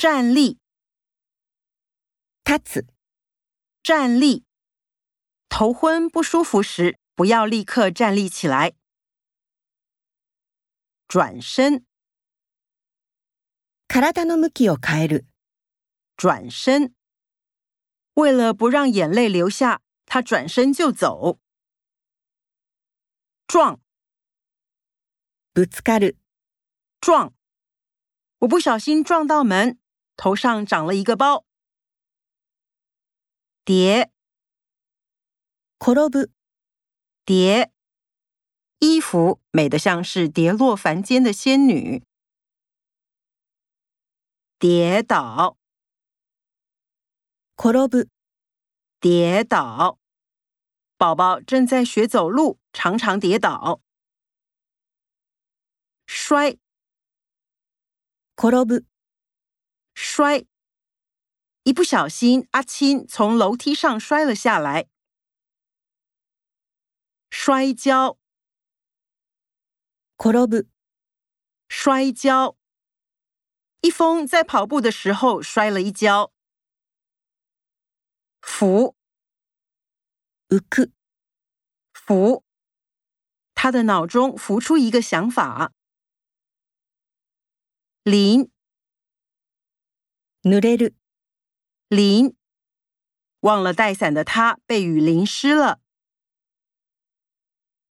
站立， 立つ、 站立。头昏不舒服时，不要立刻站立起来。转身， 体の向きを変える、 转身。为了不让眼泪流下，他转身就走。撞， ぶつかる、 撞。我不小心撞到门，头上长了一个包。跌， 転ぶ、 跌。衣服美得像是跌落凡间的仙女。跌倒， 転ぶ、 跌倒。宝宝正在学走路，常常跌倒。摔， 転ぶ、 摔。一不小心，阿青从楼梯上摔了下来。摔跤， 転ぶ、 摔跤。一峰在跑步的时候摔了一跤。浮， 浮く、 浮。他的脑中浮出一个想法。淋， 濡れる、 淋。忘了带伞的他被雨淋湿了。